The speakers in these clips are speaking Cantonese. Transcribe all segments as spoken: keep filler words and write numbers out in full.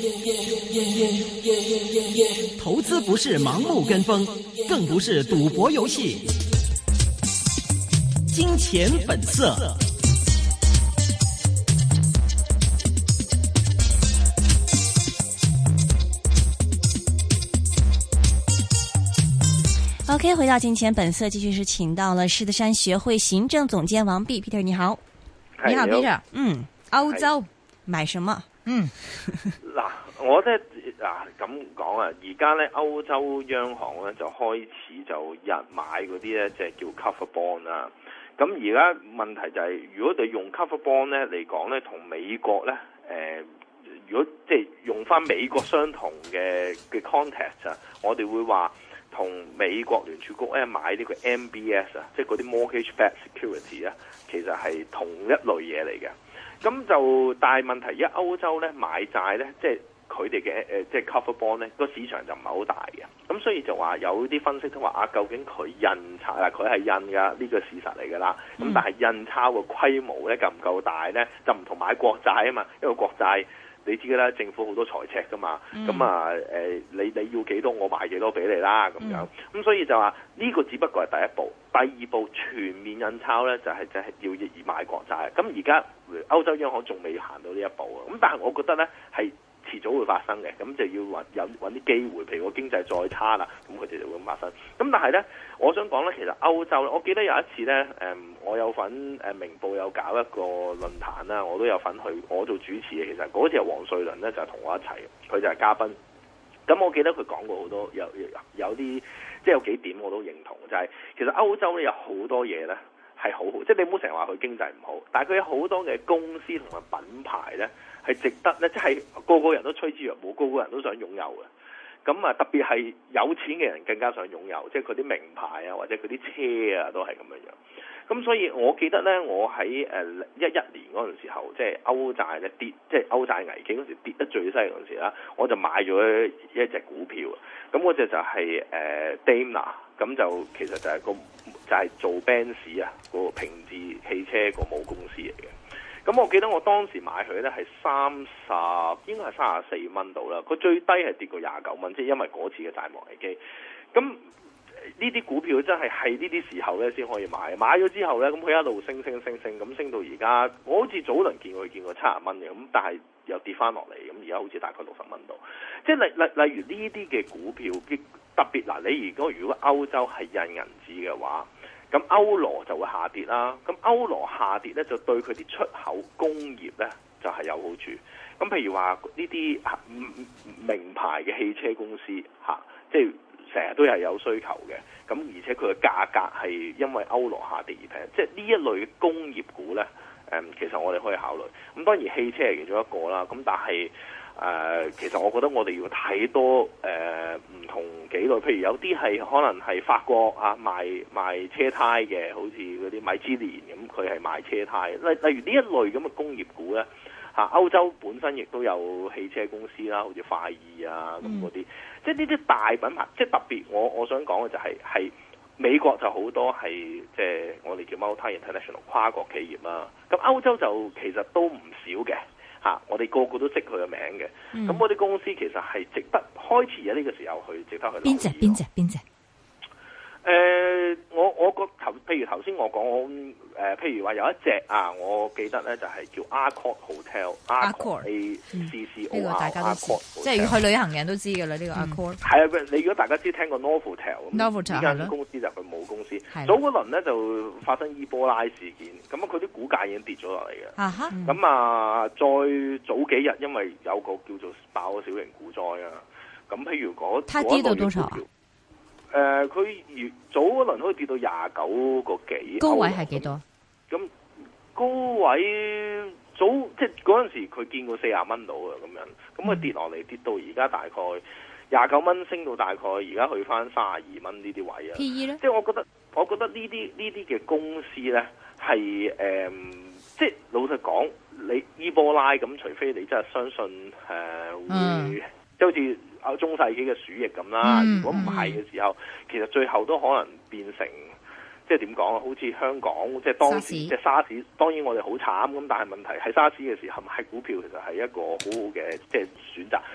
投資不是盲目跟風，更不是賭博遊戲。金錢本色。 OK， 回到金錢本色，繼續是請到了獅子山學會行政總監王弼 Peter， 你好。你好 Peter。嗯，歐洲買什麼？嗯， 嗱，我咧嗱咁講啊，而家咧歐洲央行咧就開始就日買嗰啲咧，即係叫 cover bond 啦。咁而家問題就係、是，如果你用 cover bond 咧嚟講咧，同美國咧，誒、呃，如果即係用翻美國相同嘅嘅 context 啊，我哋會話。同美國聯儲局咧買呢個 M B S 啊，即係嗰啲 mortgage-backed security 啊，其實係同一類嘢嚟嘅。咁就但係問題，而家歐洲咧買債咧，即係佢哋嘅誒，即係 cover bond 咧，個市場就唔係好大嘅。咁所以就話有啲分析都話啊，究竟佢印鈔啊，佢係印㗎，呢個事實嚟㗎啦。咁、嗯、但係印鈔嘅規模咧夠唔夠大咧？就唔同買國債啊嘛，因為國債。你知嘅啦，政府好多財赤噶嘛，咁、嗯、啊誒、呃，你你要幾多，我賣幾多俾你啦，咁樣，咁、嗯、所以就話呢、呢個只不過係第一步，第二步全面印鈔咧就係就係要以買國債。咁而家歐洲央行仲未行到呢一步啊，咁但係我覺得咧係遲早會發生嘅，咁就要揾有揾啲機會，譬如個經濟再差啦，咁佢哋就會發生。咁但係咧，我想講咧，其實歐洲咧，我記得有一次咧，誒，我有份誒明報有搞一個論壇啦，我都有份去，我做主持嘅。其實嗰次係黃瑞麟咧就係同我一齊，佢就係嘉賓。咁我記得佢講過好多，有有啲即係有幾點我都認同，就係、是、其實歐洲咧有好多嘢咧係好好，即係你唔好成日話佢經濟唔好，但係佢有好多嘅公司同埋品牌咧。係值得咧，即係個個人都趨之若鶩，個個人都想擁有嘅。咁啊，特別係有錢嘅人更加想擁有，即係佢啲名牌啊，或者佢啲車啊，都係咁樣樣。咁所以我記得咧，我喺誒一一年嗰陣時候，即係歐債咧跌，即係歐債危機嗰時跌得最犀利嗰陣時啦，我就買咗一隻股票。咁嗰隻就係誒 Daimler，咁就其實就係個就係做 Benz 啊，個平治汽車個母公司嚟嘅。咁我記得我當時買佢咧係三十，應該係三十四蚊度啦。佢最低係跌過廿九蚊，即係因為嗰次嘅債務危機。咁呢啲股票真係係呢啲時候咧先可以買。買咗之後咧，咁佢一路升升升升，咁升到而家，我好似早輪見過佢見過七十蚊嘅，咁但係又跌翻落嚟，咁而家好似大概六十蚊度。即係例例例如呢啲嘅股票，特別嗱，你如果如果歐洲係印銀紙嘅話。咁歐羅就會下跌啦，咁歐羅下跌咧就對佢啲出口工業咧就係有好處。咁譬如話呢啲名牌嘅汽車公司嚇，即係成日都係有需求嘅。咁而且佢嘅價格係因為歐羅下跌而平，即係呢一類嘅工業股咧，誒其實我哋可以考慮。咁當然汽車係其中一個啦，咁但係。誒、呃，其實我覺得我哋要睇多誒唔、呃、同幾類，譬如有啲係可能係法國啊賣賣車胎嘅，好似嗰啲米芝蓮咁，佢係賣車胎。例例如呢一類咁嘅工業股咧，嚇、啊、歐洲本身亦都有汽車公司啦，好似快意啊咁嗰啲，即係呢啲大品牌，即係特別我我想講嘅就係、是、係美國就好多係即係我哋叫 multi international 跨國企業啦，咁歐洲就其實都唔少嘅。嚇、啊！我哋個個都識佢嘅名嘅，咁嗰啲公司其實係值得開始喺呢個時候去值得去留意。 邊隻邊隻邊隻？ 誒、呃，我我個頭，譬如頭先我講，誒、呃，譬如話有一隻啊，我記得咧就係、是、叫 Accor Hotel，Accor A C C O R， 呢個大家都知，即係去旅行嘅人都知㗎啦。呢、這個 Accor 係啊，你如果大家知聽過 Novotel，呢間公司就係佢母公司。早嗰輪咧就發生伊波拉事件，咁啊佢啲股價已經跌咗落嚟嘅。啊哈，咁、嗯、啊再早幾日，因為有個叫做爆咗小型股災啊，咁譬如嗰嗰一類嘅股票。誒、呃，佢越早嗰輪可以跌到廿九個幾， 高位係幾多？ 咁高位早即係嗰陣時佢見過四十蚊到啊，咁樣，咁佢跌落嚟跌到而家大概廿九蚊，升到大概而家去翻三十二蚊呢啲位啊。P E 咧，即係我覺得，我覺得呢啲呢啲嘅公司咧係誒，即係老實講，你伊波拉咁，除非你真係相信誒、呃、會，嗯、即係好似。啊，中世紀嘅鼠疫咁啦，如果唔係嘅時候，其實最後都可能變成即係點講啊？好似香港即係當時即係沙士，當然我哋好慘咁，但係問題係沙士嘅時候買股票其實係一個好好嘅即係選擇。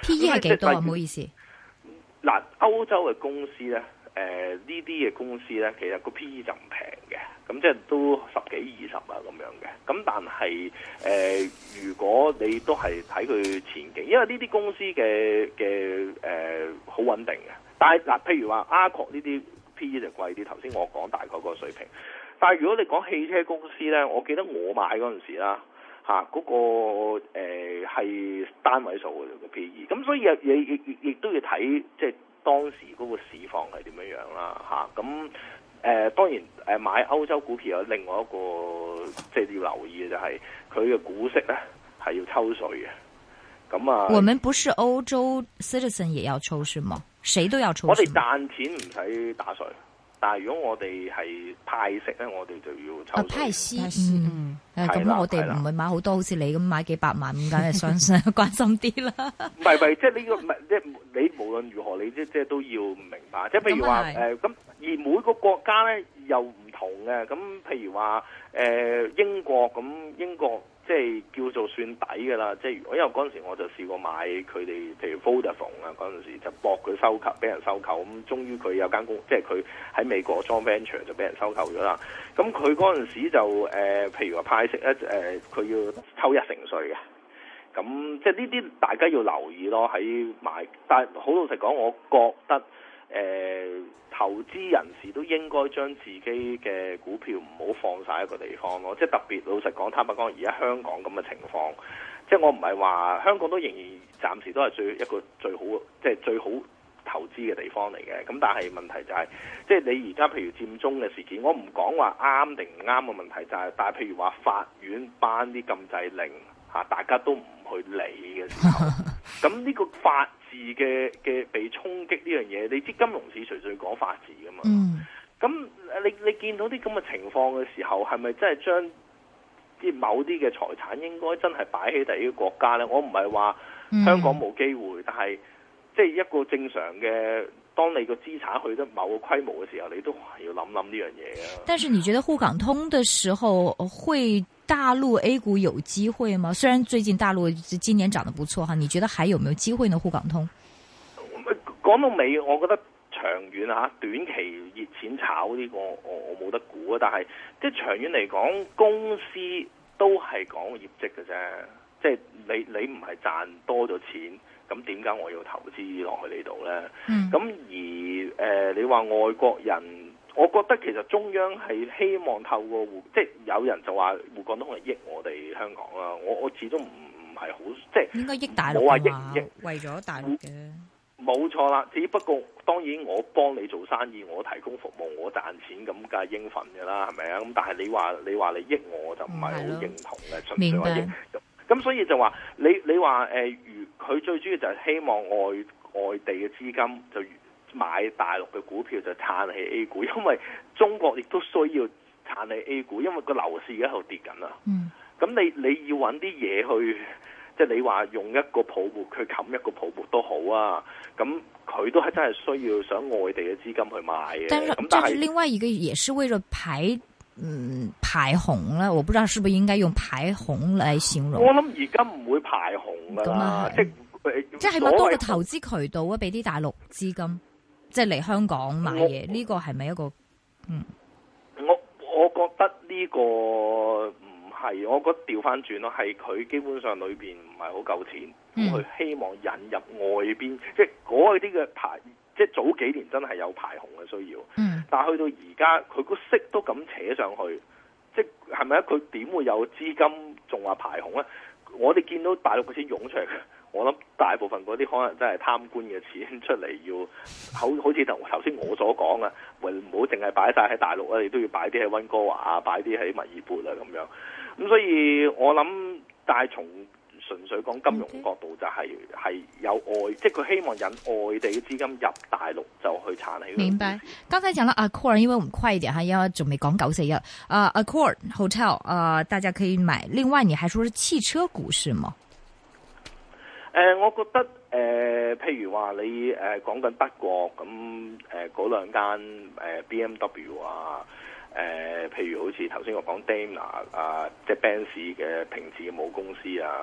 P E 係幾多啊？唔好意思。 嗱，歐洲嘅公司咧，誒呢啲嘅公司咧，其實個 P E 就唔平嘅，咁即係都十幾二十啊咁樣嘅。咁但係誒、呃，如果你都係睇佢前景，因為呢啲公司嘅嘅誒好穩定嘅。但係嗱，譬如話 Accor 呢啲 P E 就貴啲，頭先我講大概個水平。但係如果你講汽車公司咧，我記得我買嗰陣時啦。嚇、啊，嗰、那個誒係、呃、單位數嘅個 P E，咁所以亦亦亦亦都要睇即係當時嗰個市況係點樣樣啦嚇。咁、啊、誒、呃、當然誒買歐洲股票有另外一個即係要留意嘅就係佢嘅股息咧係要抽稅嘅。咁啊， 我們不是歐洲 citizen 也要抽是嗎？誰都要抽稅？ 我哋賺錢唔使打稅。但係如果我哋係派息咧，我哋就要抽稅。 啊，派息， 嗯， 誒咁、嗯、我哋唔會買好多，好似你咁買幾百萬，咁梗係想想關心啲啦。 唔係唔係，即係呢個唔係即係你無論如何，你即即係都要明白。即係譬如話誒咁，而每個國家咧又唔同嘅。咁譬如話誒、呃、英國咁，英國即係叫做算抵㗎啦。即係因為嗰陣時我就試過買佢哋，譬如 Vodafone 啊嗰陣時就搏佢收購，俾人收購咁，終於佢有間公，即係佢喺美國 joint venture 就俾人收購咗啦。咁佢嗰陣時就誒、呃，譬如話派息咧誒，佢、呃、要抽一成稅嘅。咁即係呢啲大家要留意咯。喺買，但係好老實講，我覺得誒、呃、投資人士都應該將自己嘅股票唔好放晒一個地方咯。即係特別老實講，坦白講，而家香港咁嘅情況，即係我唔係話香港都仍然暫時都係最一個最好，即係最好投資嘅地方嚟嘅。咁但係問題就係、是，即係你而家譬如佔中嘅事件，我唔講話啱定唔啱嘅問題，就係、是，但係譬如話法院頒啲禁制令嚇，大家都唔去理嘅時候，咁呢個法治嘅嘅被衝擊呢樣嘢，你知金融市隨隨講法治噶嘛？咁、嗯、你你見到啲咁嘅情況嘅時候，係咪真係將啲某啲嘅財產應該真係擺喺第二個國家呢？我唔係話香港冇機會，嗯、但係即係一個正常嘅，當你個資產去得某個規模嘅時候，你都係要諗諗呢樣嘢啊。 但是你覺得滬港通嘅時候會大陸 A 股有機會嗎？雖然最近大陸今年漲得不錯哈，你覺得還有沒有機會呢？滬港通講到尾，我覺得長遠吓，短期熱錢炒呢個我我冇得估啊。但係即係長遠嚟講，公司都係講業績嘅啫。即係你你唔係賺多咗錢，咁點解我要投資落去呢度呢？咁、嗯、而誒、呃，你話外國人，我覺得其實中央係希望透過滬，即係有人就話滬港通係益我哋香港啦。我我始終唔唔係好，即係應該益大陸， 冇話益益為咗大陸嘅。 冇錯啦，只不過當然我幫你做生意，我提供服務，我賺錢咁梗係應份嘅啦，係咪啊？咁但係你話你話你益我就唔係好認同嘅，純粹話益。咁所以就話你你話誒，如、呃、佢最主要就係希望外外地嘅資金就買大陸嘅股票，就撐起 A 股，因為中國亦都需要撐起 A 股，因為個樓市而家喺度跌緊啦。嗯。咁你你要揾啲嘢去，即係你話用一個泡沫去冚一個泡沫都好啊。咁佢都係真係需要想外地嘅資金去買嘅。但係，但係另外一個也是為咗排。嗯，排紅啦，我不知道是不是應該用排紅來形容。 我諗而家唔會排紅噶啦，即係即係起碼多個投資渠道啊，俾啲大陸資金即係嚟香港買嘢，呢、這個係咪一個？嗯， 我我覺得呢個唔係，我覺得調翻轉咯，係佢基本上裏邊唔係好夠錢，佢、嗯、希望引入外邊，即係嗰啲嘅排。即係早幾年真係有排紅嘅需要，嗯、但係去到而家佢個息都咁扯上去，即係咪啊？佢點會有資金仲話排紅咧？我哋見到大陸嘅錢湧出嚟，我諗大部分嗰啲可能真係貪官嘅錢出嚟，要好好似頭頭先我所講啊，唔好淨係擺晒喺大陸啊，你都要擺啲喺溫哥華啊，擺啲喺墨爾本啊咁樣。咁所以我諗，但係從純粹講金融角度就係、是、係、okay. 有外，即係佢希望引外地嘅資金入大陸就去撐起。 明白。剛才講到 Accor， 因為我們快一點哈，因為仲未講九四一。啊 Accor Hotel 啊、呃，大家可以買。另外，你還說是汽車股是嗎？ 誒、呃，我覺得誒、呃，譬如話你誒講緊德國咁誒嗰兩間誒 B M W 啊。誒、呃，譬如好似頭先我講 Daimler 啊，即係 Benz 嘅平治嘅母公司啊，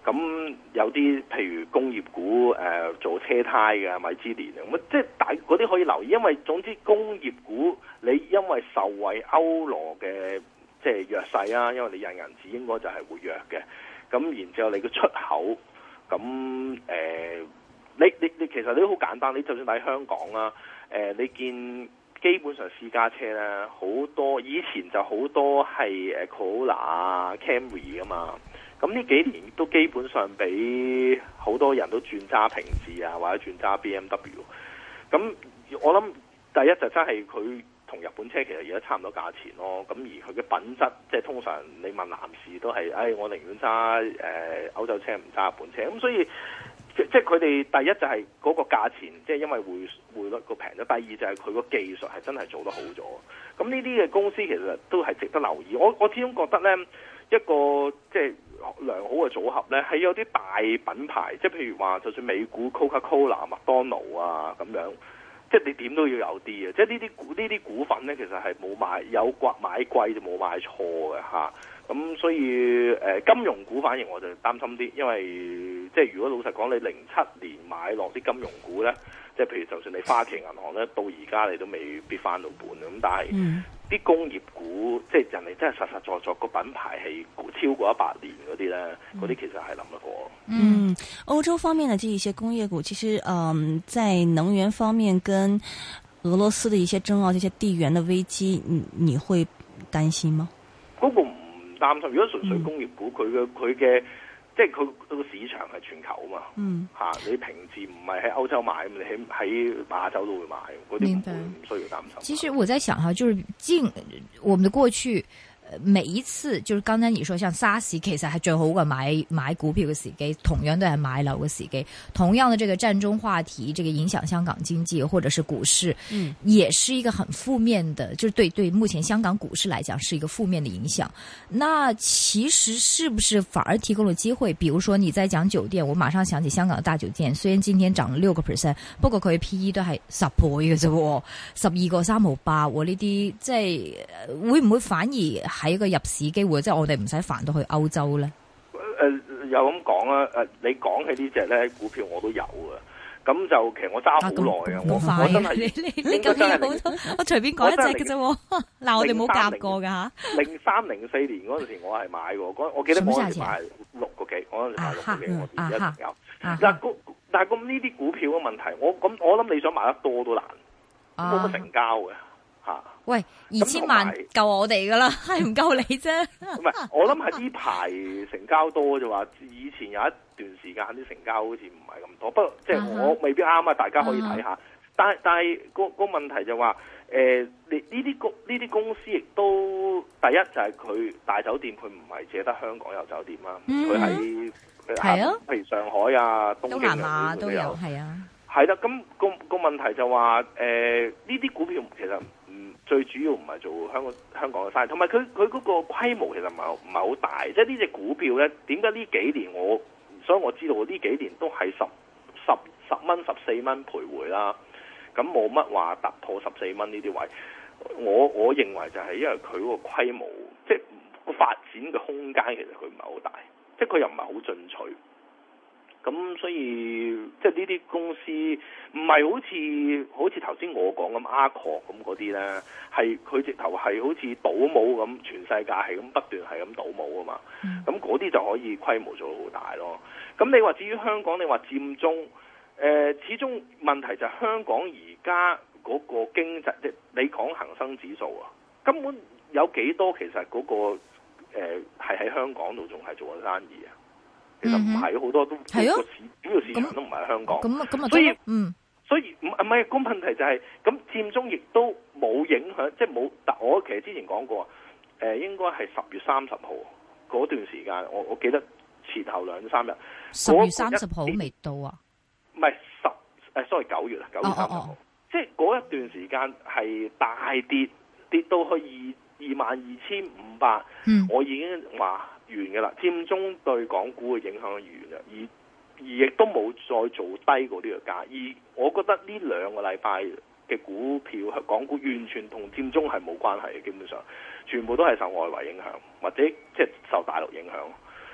咁有啲譬如工業股誒、呃、做車胎嘅米芝蓮咁，即係大嗰啲可以留意，因為總之工業股你因為受惠歐羅嘅即係弱勢啊，因為你印銀紙應該就係會弱嘅。咁然之後你嘅出口，咁誒、呃、你你你其實你都好簡單，你就算喺香港啦，誒、呃、你見基本上私家車咧好多，以前就好多係誒 Corolla 啊 Camry 啊嘛。咁呢幾年都基本上俾好多人都轉揸平治啊，或者轉揸 B M W。咁我諗第一就真係佢同日本車其實而家差唔多價錢咯。咁而佢嘅品質，即係通常你問男士都係，唉、哎，我寧願揸誒歐洲車唔揸日本車。咁所以即係佢哋第一就係嗰個價錢，即係因為匯匯率個平咗。第二就係佢個技術係真係做得好咗。咁呢啲嘅公司其實都係值得留意。我我始終覺得呢一個即係良好嘅組合呢，係有啲大品牌，即係譬如話，就算美股 Coca-Cola、麥當勞啊咁樣，即係你點都要有啲嘅。即係呢啲股呢啲股份呢，其實係冇買有貴買貴就冇買錯嘅嚇。咁所以誒、呃、金融股反而我就擔心啲，因為即係如果老實講，你零七年買落啲金融股呢，即係譬如就算你花旗銀行呢，到而家你都未必翻到本咁，但係啲、嗯、工業股即係人哋真係實實在在個品牌係超過一百年嗰啲呢，嗰啲其實係諗得過。 嗯，歐洲方面的這一些工業股，其實嗯，在能源方面跟俄羅斯的一些爭拗、這些地緣的危機，你你會擔心嗎？ 嗰個唔擔心，如果純粹工業股，佢嘅佢嘅即係佢個市場係全球啊嘛，嗯嚇、啊，你平時唔係喺歐洲買，你喺喺亞洲都會買，嗰啲唔會唔需要擔心。 其實我在想哈，就是近我們的過去。每一次就是剛才你說像沙士，其實係最好嘅買買股票嘅時機，同樣都係買樓嘅時機。同樣的這個佔中話題，這個影響香港經濟或者是股市，嗯，也是一個很負面的，就是對對目前香港股市來講是一個負面的影響。那其實是不是反而提供了機會？比如說你在講酒店，我馬上想起香港的大酒店，雖然今天漲了六個 percent，不過佢 P E 都係十倍嘅啫，十二個三毫八，我呢啲即係會唔會反而？係一個入市機會，即係我哋唔使煩到去歐洲咧。 誒、呃，有咁講啦。誒、呃，你講起呢隻咧股票我都有啊。咁就其實我揸好耐啊。我我真係你你你咁有好多，我隨便講一隻嘅啫。嗱，我哋冇夾過噶吓。零三零四年嗰陣時我係買過，嗰我記得我嗰陣時買六個幾，我嗰陣時買六個幾，我而家仲有。嗱，但係咁呢啲股票嘅問題，我咁我諗你想買得多都難，冇乜成交嘅。吓， 喂，二千萬夠我哋噶啦，係唔夠你啫。 唔係，我諗係呢排成交多就話，以前有一段時間啲成交好似唔係咁多。不過即係我未必啱啊，大家可以睇下。Uh-huh. 但係但係個個問題就話，誒，你呢啲公呢啲公司亦都第一就係佢大酒店，佢唔係淨係得香港有酒店啊，佢喺係啊，譬如上海啊、東京啊都有，係啊， 係啦。咁個個問題就話，誒，呢啲股票其實。最主要唔係做香港香港嘅生意，同埋佢佢嗰個規模其實唔係唔係好大，即係呢隻股票咧，點解呢幾年我，所以我知道呢幾年都係十十十蚊十四蚊徘徊啦，咁冇乜話突破十四蚊呢啲位，我我認為就係因為佢嗰個規模，即係個發展嘅空間其實佢唔係好大，即係佢又唔係好進取。咁所以即係呢啲公司唔係好似好似頭先我講咁 Accor 咁嗰啲咧，係佢直頭係好似倒模咁，全世界係咁不斷係咁倒模啊嘛。咁嗰啲就可以規模做到好大咯。咁你話至於香港，你話佔中，誒、呃、始終問題就係香港而家嗰個經濟，即係你講恒生指數啊，根本有幾多其實嗰、嗰個誒係喺香港度仲係做緊生意啊？其實唔係好多都係啊，主要市場都唔係香港， 咁咁啊， 所以嗯， 所以唔唔係個問題就係、是、咁佔中亦都冇影響，即係冇。但我其實之前講過，誒、呃、應該係十月三十號嗰段時間，我我記得前後兩三日。 十月三十號未到啊？ 唔係十誒，sorry 九月啊，九月三十號，哦哦哦即係嗰一段時間係大跌，跌到去二二萬二千五百，我已經話。完嘅啦，佔中對港股嘅影響完啦，而而亦都冇再做低過呢個價，而我覺得呢兩個禮拜嘅股票，港股完全同佔中係冇關係嘅，基本上全部都係受外圍影響，或者即係受大陸影響。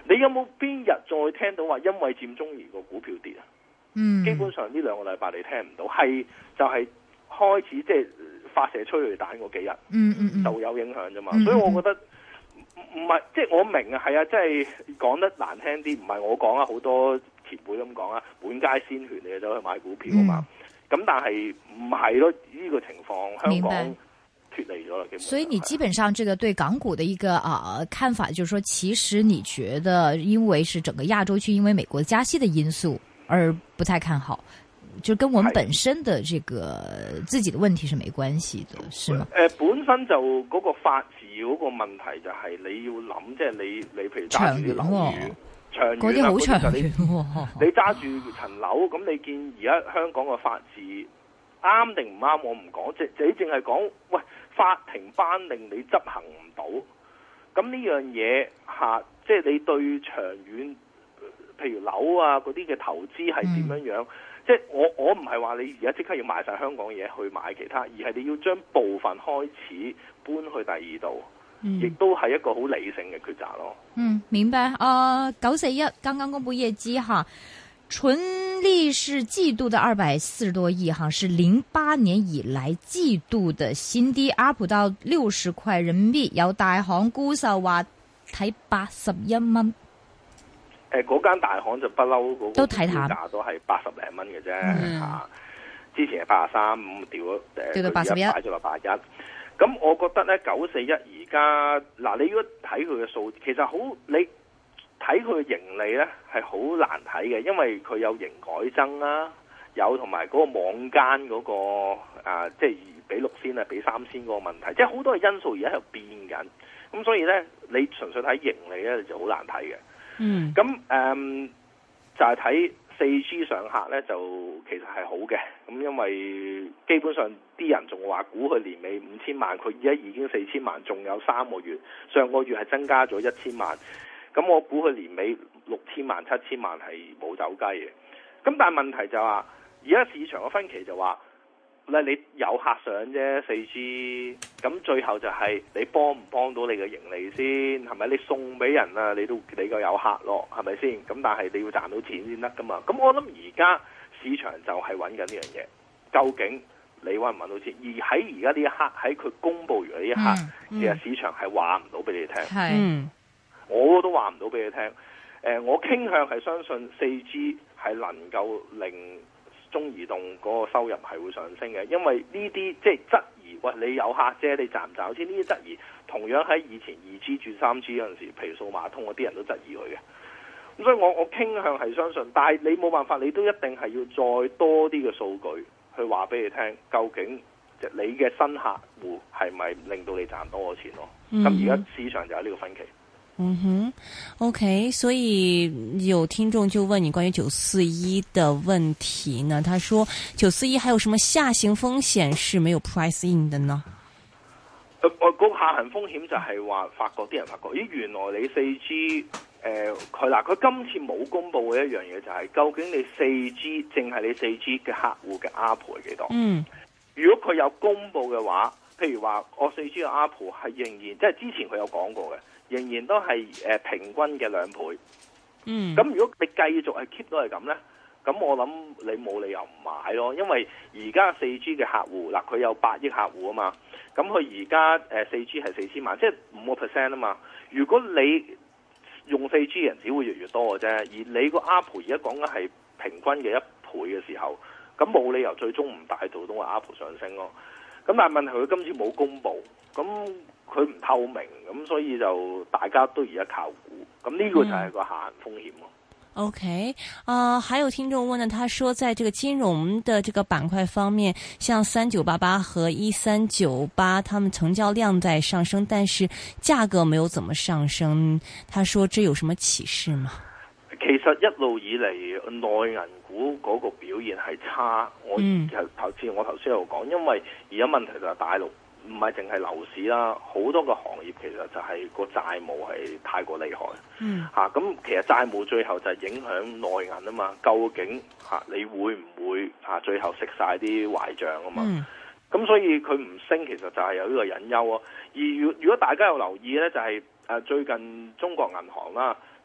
你有冇邊日再聽到話因為佔中而個股票跌啊？ 嗯， 基本上呢兩個禮拜你聽唔到，係就係、是、開始即係發射催淚彈嗰幾日， 嗯嗯嗯， 就有影響啫嘛。 嗯嗯所以我覺得唔係即係我明啊，係啊，即係講得難聽啲，唔係我講啊，好多前輩咁講啊，滿街鮮血你就走去買股票啊嘛。咁、嗯、但係唔係咯？呢、這個情況香港脫離咗啦，基本上。 所以你基本上這個對港股的一個啊、呃、看法，就是說，其實你覺得因為是整個亞洲區因為美國加息的因素而不太看好，就跟我們本身的這個自己的問題是沒關係的，是嗎？ 誒、呃，本身就嗰個法治嗰個問題就係你要諗，即、就、係、是、你你譬如揸住啲樓宇，長遠嗰啲好長遠，你揸住層樓，咁你見而家香港嘅法治啱定唔啱？我唔講，即係你淨係講，喂，法庭頒令你執行唔到，咁呢樣嘢吓，即係你對長遠，譬如樓啊嗰啲嘅投資係點樣樣？嗯、即係我我唔係話你而家即刻要賣晒香港嘢去買其他，而係你要將部分開始搬去第二度，亦都係一個好理性嘅抉擇咯。 嗯，明白。啊，九四一剛剛公布業績哈，純利是季度的二百四十多億哈，是零八年以來季度的新低，up 到六十塊人民幣。有大行沽售話睇八十一蚊。 誒，嗰間大行就不嬲嗰個價都係八十零蚊嘅啫嚇，之前係八十三，咁掉咗誒， 掉到八十一， 擺咗落八一。咁我覺得咧，九四一而家嗱，你如果睇佢嘅數，其實好你睇佢嘅盈利咧係好難睇嘅，因為佢有營改增啦，有同埋嗰個網間嗰、嗰個啊，即係比六仙啊，比三仙嗰個問題，即係好多嘅因素而家喺度變緊。咁所以咧，你純粹睇盈利咧就好難睇嘅。嗯，咁誒、嗯、就係睇四 G 上客咧，就其實係好嘅。咁因為基本上啲人仲話估佢年尾五千萬，佢而家已經四千萬，仲有三個月。上個月係增加咗一千萬，咁我估佢年尾六千萬、七千萬係冇走雞嘅。咁但係問題就話，而家市場嘅分歧就話，咧你有客上啫，四 G，咁最後就係你幫唔幫到你嘅盈利先，係咪？你送俾人啊，你都你個有客咯，係咪先？咁但係你要賺到錢先得噶嘛。咁我諗而家市場就係揾緊呢樣嘢，究竟你揾唔揾到錢？而喺而家呢一刻，喺佢公佈完呢一刻，嗯嗯、其實市場係話唔到俾你聽。係、嗯，我都話唔到俾你聽。誒、呃，我傾向係相信四 G 係能夠令中移動嗰個收入係會上升嘅，因為呢啲即係質疑，喂，你有客啫，你賺唔賺錢？呢啲質疑同樣喺以前二 G 轉三 G 嗰陣時，譬如數碼通嗰啲人都質疑佢嘅。咁所以我我傾向係相信，但係你冇辦法，你都一定係要再多啲嘅數據去話俾你聽，究竟即你嘅新客戶係咪令到你賺多咗錢咯？咁而家市場就有呢個分歧。 嗯哼 ，OK， 所以有聽眾就問你關於九四一的問題呢？他說九四一還有什麼下行風險是沒有 price in 的呢？ 誒、呃，我、那個下行風險就係話發覺啲人發覺，咦，原來你四 G 誒，佢嗱佢今次冇公布嘅一樣嘢就係、是，究竟你四 G 淨係你四 G 嘅客戶嘅 A R P U 係幾多？嗯，如果佢有公布嘅話，譬如話我四 G 嘅 A R P U 係仍然即係之前佢有講過嘅。仍然都係誒、呃、平均嘅兩倍，嗯，咁如果你繼續係 keep 到係咁咧，咁我諗你冇理由唔買咯，因為而家四 G 嘅客戶嗱，佢有八億客戶啊嘛，咁佢而家誒四 G 係四千萬，即係五個 percent 啊嘛。如果你用四 G 嘅人只會越嚟越多嘅啫，而你個 A R P U 而家講緊係平均嘅一倍嘅時候，咁冇理由最終唔帶到到個 A R P U 上升咯。咁但係問題佢今次冇公布，咁佢唔透明，咁所以就大家都而家靠估，咁呢個就係個下行風險咯。 嗯、OK，啊、呃，還有聽眾問呢，他說在這個金融的這個板塊方面，像三九八八和一三九八，他們成交量在上升，但是價格沒有怎麼上升。他說這有什麼啟示嗎？ 其實一路以嚟內銀股嗰個表現係差，我頭先、嗯、我頭先有講，因為而家問題就係大陸唔係淨係樓市啦，好多個行業其實就係個債務係太過厲害，嗯嚇咁、啊、其實債務最後就係影響內銀啊嘛，究竟嚇、啊、你會唔會嚇、啊、最後食晒啲壞帳啊嘛？咁、嗯、所以佢唔升，其實就係有呢個隱憂啊。而如如果大家有留意咧，就係、是、誒最近中國銀行啦。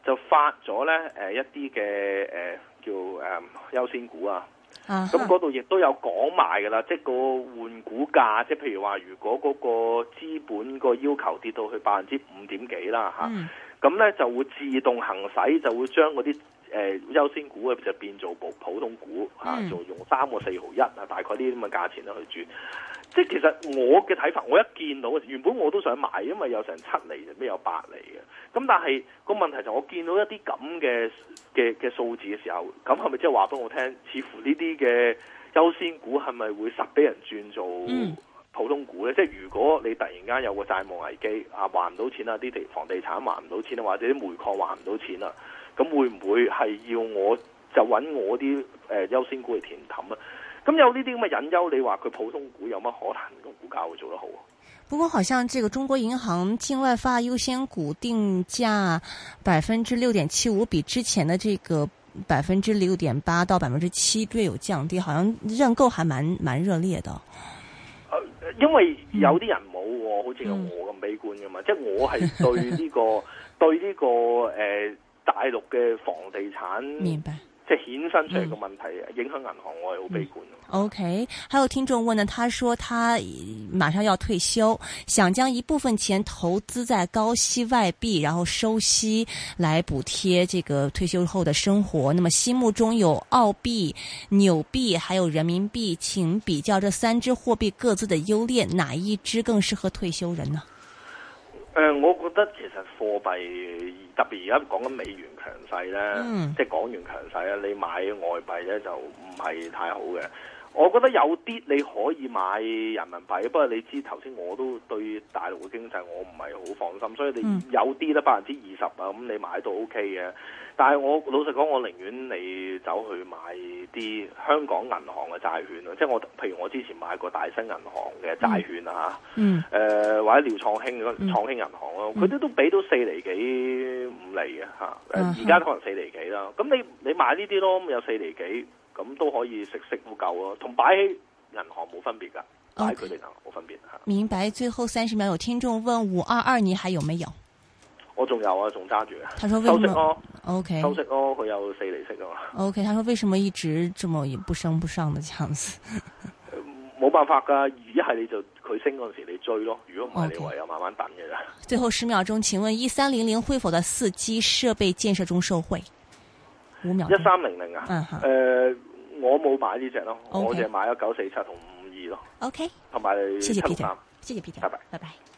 就發咗咧誒一啲嘅誒叫誒、呃、優先股啊。咁嗰度亦都有講埋㗎啦，即係個換股價，即係譬如話，如果嗰個資本個要求跌到去百分之五點幾啦嚇，咁咧、嗯、就會自動行使，就會將嗰啲誒優先股就變做普普通股嚇，就、嗯、用三個四毫一啊，大概呢啲咁嘅價錢咧去轉。即係其實我嘅睇法，我一見到原本我都想買，因為有成七厘，就咩有八厘嘅。咁但係個問題就我見到一啲咁嘅嘅嘅數字嘅時候，咁係咪即係話俾我聽？似乎呢啲嘅優先股係咪會實俾人轉做普通股咧？嗯、即係如果你突然間有個債務危機啊，還唔到錢啊，啲地房地產還唔到錢啊，或者啲煤礦還唔到錢啊，咁會唔會係要我就揾我啲誒優先股嚟填氹啊？咁有呢啲咁嘅隱憂，你話佢普通股有乜可能個股價會做得好？ 不過好像這個中國銀行境外發優先股定價百分之六點七五，比之前的這個百分之六點八到百分之七略有降低，好像認購還蠻蠻熱烈的。 呃、因為有啲人冇喎，好似我咁悲觀噶嘛，嗯、即係我係對呢、這個對呢、這個誒、呃、大陸嘅房地產。 明白。 即係衍生出嚟嘅問題，嗯、影響銀行，我係好悲觀。 嗯、OK，還有聽眾問呢，他說他馬上要退休，想將一部分錢投資在高息外幣，然後收息來補貼這個退休後的生活。那麼心目中有澳幣、紐幣，還有人民幣，請比較這三支貨幣各自的優劣，哪一支更適合退休人呢？ 誒、呃，我覺得其實貨幣特別而家講緊美元強勢咧，嗯、即係港元強勢咧，你買外幣咧就唔係太好嘅。我覺得有啲你可以買人民幣，不過你知頭先我都對大陸嘅經濟我唔係好放心，所以你有啲咧百分之二十啊，咁你買都 OK 嘅。但係我老實講，我寧願你走去買啲香港銀行嘅債券咯，即係我譬如我之前買過大新銀行嘅債券啊，嗯，誒、呃、或者廖創興嗰創興銀行咯，佢哋、嗯、都俾到四厘幾五厘嘅嚇，誒而家可能四厘幾啦。咁你你買呢啲咯，咁有四厘幾，咁都可以食息都夠咯，同擺喺銀行冇分別㗎，擺佢哋銀行冇分別嚇。 明白。最後三十秒，有聽眾問五二二，你還有沒有？ 我仲有啊，仲揸住啊。 他說為什麼？ 收息咯 OK， 收息咯，佢有四厘息啊嘛。 OK，他說為什麼一直這麼不升不上的這樣子？ 冇辦法噶，一係你就佢升嗰陣時你追咯，如果唔係你唯有慢慢等嘅咋。 Okay. 最後十秒鐘，請問一三零零會否在四 G 設備建設中受惠？五秒。一三零零啊？嗯誒、呃，我冇買呢隻咯，Okay. 我淨係買咗九四七同五五二咯。OK，同埋謝謝 Peter，謝謝 Peter，拜拜，拜拜。